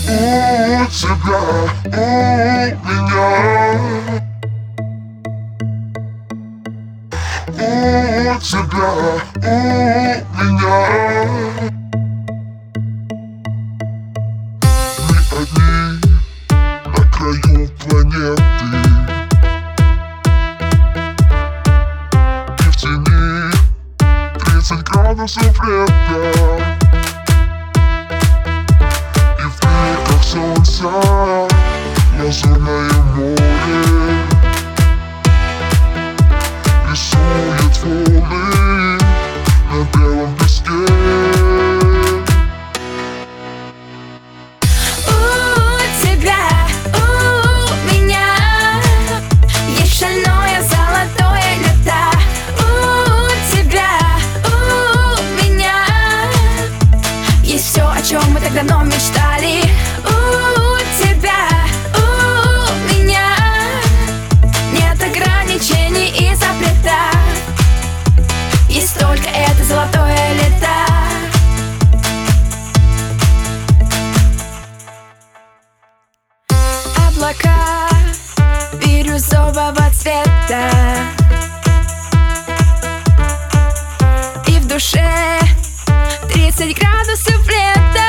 у тебя, у меня. У тебя, у меня. Мы одни на краю планеты, и в тени 30 градусов лета, и в бликах солнца лазурное море рисует волны на белом песке. У тебя, у меня есть шальное золотое лето. У тебя, у меня есть все, о чем мы так давно мечтали. У тебя, у меня нет ограничений и запретов. Есть только это золотое лето. Облака бирюзового цвета, и в душе 30 градусов лета.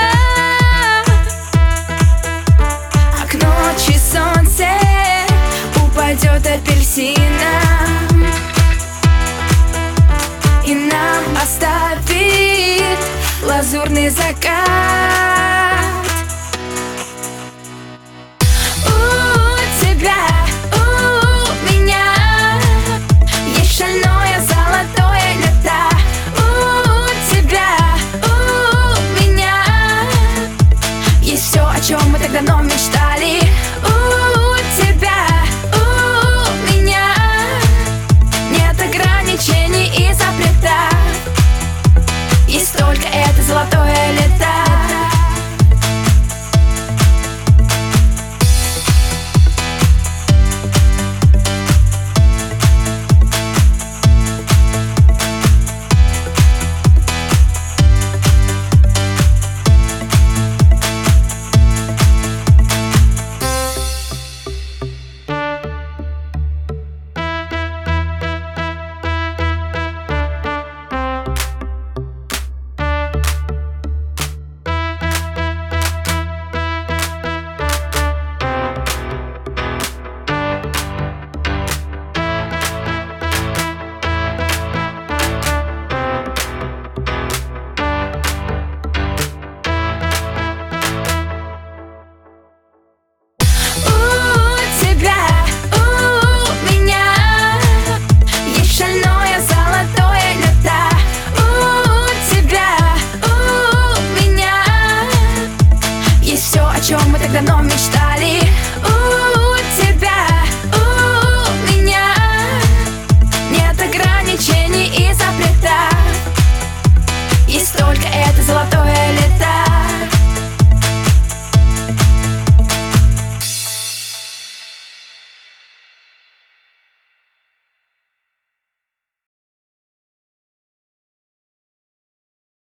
А к ночи солнце упадет апельсином и нам оставит лазурный закат. У тебя, у меня есть шальное золотое лето. У тебя, у меня есть все, о чем мы так давно мечтали. У тебя, у меня нет ограничений и запретов. Есть только это золотое лето.